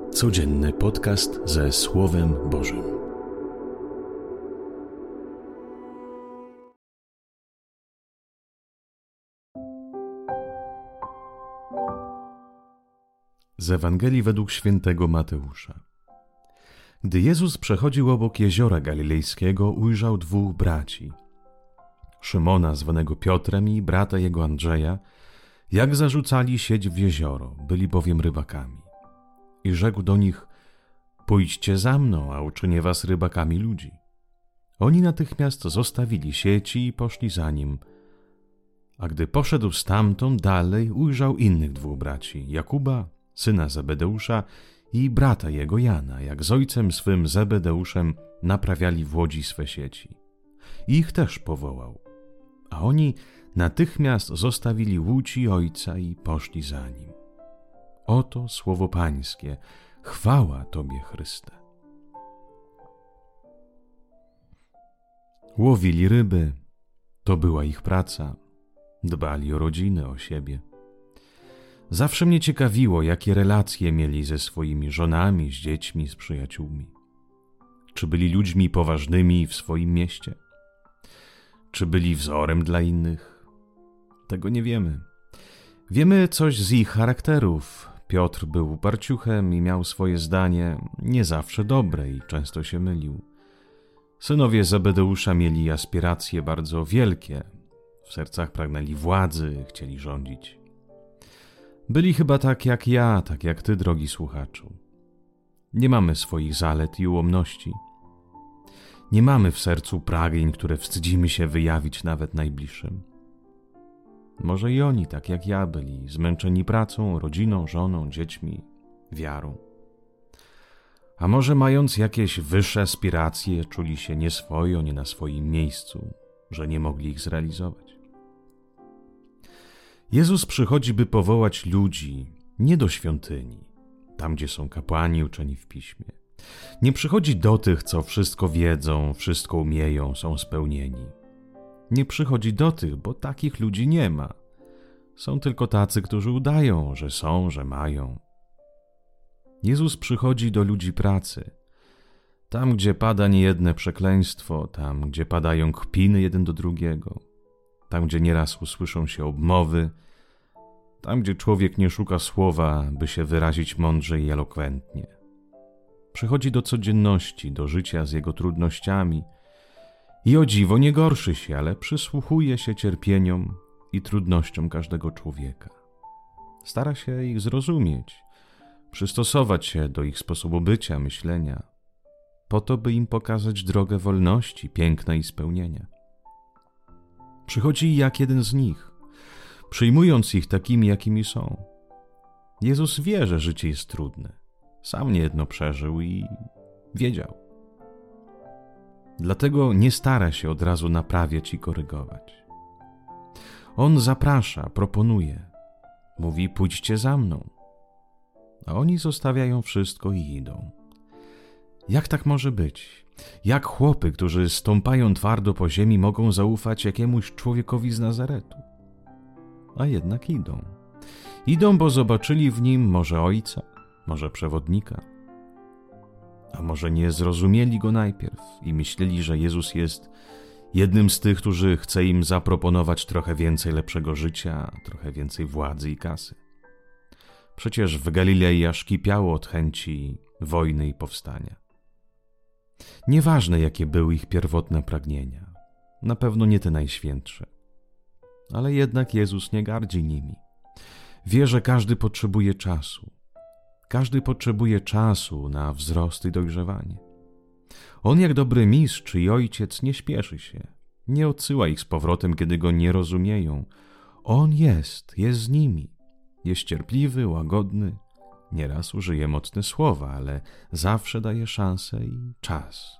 Codzienny podcast ze Słowem Bożym. Z Ewangelii według świętego Mateusza. Gdy Jezus przechodził obok jeziora galilejskiego, ujrzał dwóch braci, Szymona zwanego Piotrem i brata jego Andrzeja, jak zarzucali sieć w jezioro, byli bowiem rybakami. I rzekł do nich: pójdźcie za mną, a uczynię was rybakami ludzi. Oni natychmiast zostawili sieci i poszli za nim. A gdy poszedł stamtąd dalej, ujrzał innych dwóch braci, Jakuba, syna Zebedeusza, i brata jego Jana, jak z ojcem swym Zebedeuszem naprawiali w łodzi swe sieci. I ich też powołał. A oni natychmiast zostawili łódź i ojca i poszli za nim. Oto słowo Pańskie. Chwała Tobie, Chryste. Łowili ryby. To była ich praca. Dbali o rodziny, o siebie. Zawsze mnie ciekawiło, jakie relacje mieli ze swoimi żonami, z dziećmi, z przyjaciółmi. Czy byli ludźmi poważnymi w swoim mieście? Czy byli wzorem dla innych? Tego nie wiemy. Wiemy coś z ich charakterów. Piotr był uparciuchem i miał swoje zdanie, nie zawsze dobre, i często się mylił. Synowie Zebedeusza mieli aspiracje bardzo wielkie. W sercach pragnęli władzy, chcieli rządzić. Byli chyba tak jak ja, tak jak ty, drogi słuchaczu. Nie mamy swoich zalet i ułomności. Nie mamy w sercu pragnień, które wstydzimy się wyjawić nawet najbliższym. Może i oni, tak jak ja, byli zmęczeni pracą, rodziną, żoną, dziećmi, wiarą. A może mając jakieś wyższe aspiracje, czuli się nieswojo, nie na swoim miejscu, że nie mogli ich zrealizować. Jezus przychodzi, by powołać ludzi nie do świątyni, tam gdzie są kapłani uczeni w piśmie. Nie przychodzi do tych, co wszystko wiedzą, wszystko umieją, są spełnieni. Nie przychodzi do tych, bo takich ludzi nie ma. Są tylko tacy, którzy udają, że są, że mają. Jezus przychodzi do ludzi pracy. Tam, gdzie pada niejedne przekleństwo, tam, gdzie padają kpiny jeden do drugiego, tam, gdzie nieraz usłyszą się obmowy, tam, gdzie człowiek nie szuka słowa, by się wyrazić mądrze i elokwentnie. Przychodzi do codzienności, do życia z jego trudnościami i o dziwo nie gorszy się, ale przysłuchuje się cierpieniom i trudnościom każdego człowieka. Stara się ich zrozumieć, przystosować się do ich sposobu bycia, myślenia, po to, by im pokazać drogę wolności, piękna i spełnienia. Przychodzi jak jeden z nich, przyjmując ich takimi, jakimi są. Jezus wie, że życie jest trudne. Sam niejedno przeżył i wiedział. Dlatego nie stara się od razu naprawiać i korygować. On zaprasza, proponuje. Mówi: pójdźcie za mną. A oni zostawiają wszystko i idą. Jak tak może być? Jak chłopy, którzy stąpają twardo po ziemi, mogą zaufać jakiemuś człowiekowi z Nazaretu? A jednak idą. Idą, bo zobaczyli w nim może ojca, może przewodnika. A może nie zrozumieli go najpierw i myśleli, że Jezus jest jednym z tych, którzy chce im zaproponować trochę więcej lepszego życia, trochę więcej władzy i kasy. Przecież w Galilei aż kipiało od chęci wojny i powstania. Nieważne, jakie były ich pierwotne pragnienia, na pewno nie te najświętsze. Ale jednak Jezus nie gardzi nimi. Wie, że każdy potrzebuje czasu. Każdy potrzebuje czasu na wzrost i dojrzewanie. On, jak dobry mistrz i ojciec, nie śpieszy się. Nie odsyła ich z powrotem, kiedy go nie rozumieją. On jest z nimi. Jest cierpliwy, łagodny. Nieraz użyje mocne słowa, ale zawsze daje szansę i czas.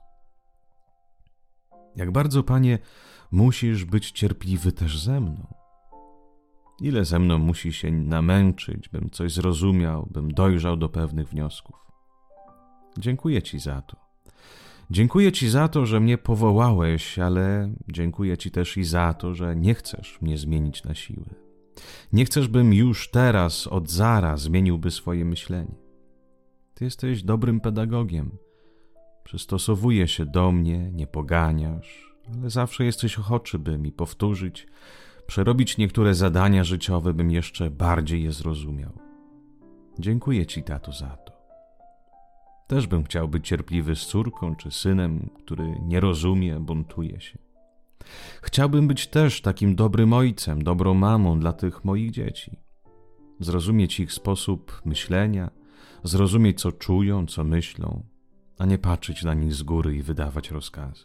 Jak bardzo, Panie, musisz być cierpliwy też ze mną. Ile ze mną musi się namęczyć, bym coś zrozumiał, bym dojrzał do pewnych wniosków. Dziękuję Ci za to. Dziękuję Ci za to, że mnie powołałeś, ale dziękuję Ci też i za to, że nie chcesz mnie zmienić na siłę. Nie chcesz, bym już teraz, od zara zmieniłby swoje myślenie. Ty jesteś dobrym pedagogiem. Przystosowujesz się do mnie, nie poganiasz, ale zawsze jesteś ochoczy, by mi powtórzyć, przerobić niektóre zadania życiowe, bym jeszcze bardziej je zrozumiał. Dziękuję Ci, tato, za to. Też bym chciał być cierpliwy z córką czy synem, który nie rozumie, buntuje się. Chciałbym być też takim dobrym ojcem, dobrą mamą dla tych moich dzieci. Zrozumieć ich sposób myślenia, zrozumieć, co czują, co myślą, a nie patrzeć na nich z góry i wydawać rozkazy.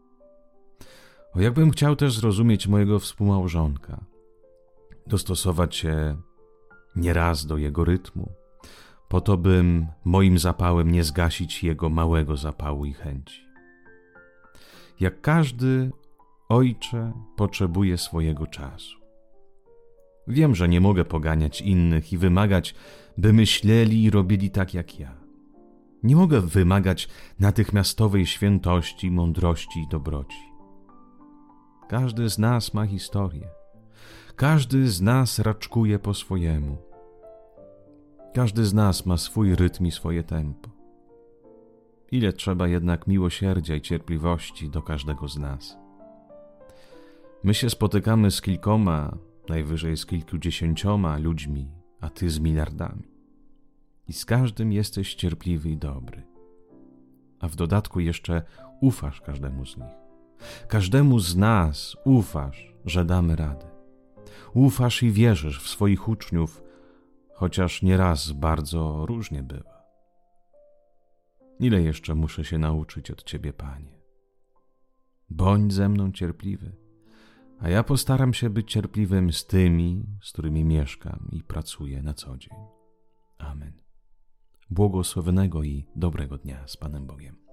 O, jakbym chciał też zrozumieć mojego współmałżonka, dostosować się nieraz do jego rytmu, po to, bym moim zapałem nie zgasić jego małego zapału i chęci. Jak każdy ojcze potrzebuje swojego czasu. Wiem, że nie mogę poganiać innych i wymagać, by myśleli i robili tak jak ja. Nie mogę wymagać natychmiastowej świętości, mądrości i dobroci. Każdy z nas ma historię. Każdy z nas raczkuje po swojemu. Każdy z nas ma swój rytm i swoje tempo. Ile trzeba jednak miłosierdzia i cierpliwości do każdego z nas. My się spotykamy z kilkoma, najwyżej z kilkudziesięcioma ludźmi, a Ty z miliardami. I z każdym jesteś cierpliwy i dobry. A w dodatku jeszcze ufasz każdemu z nich. Każdemu z nas ufasz, że damy radę. Ufasz i wierzysz w swoich uczniów, chociaż nieraz bardzo różnie bywa. Ile jeszcze muszę się nauczyć od Ciebie, Panie? Bądź ze mną cierpliwy, a ja postaram się być cierpliwym z tymi, z którymi mieszkam i pracuję na co dzień. Amen. Błogosławionego i dobrego dnia z Panem Bogiem.